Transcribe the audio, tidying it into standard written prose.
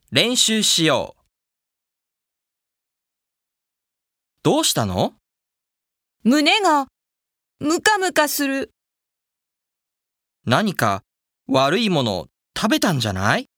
練習しよう。どうしたの？ 胸がムカムカする。 何か悪いもの食べたんじゃない？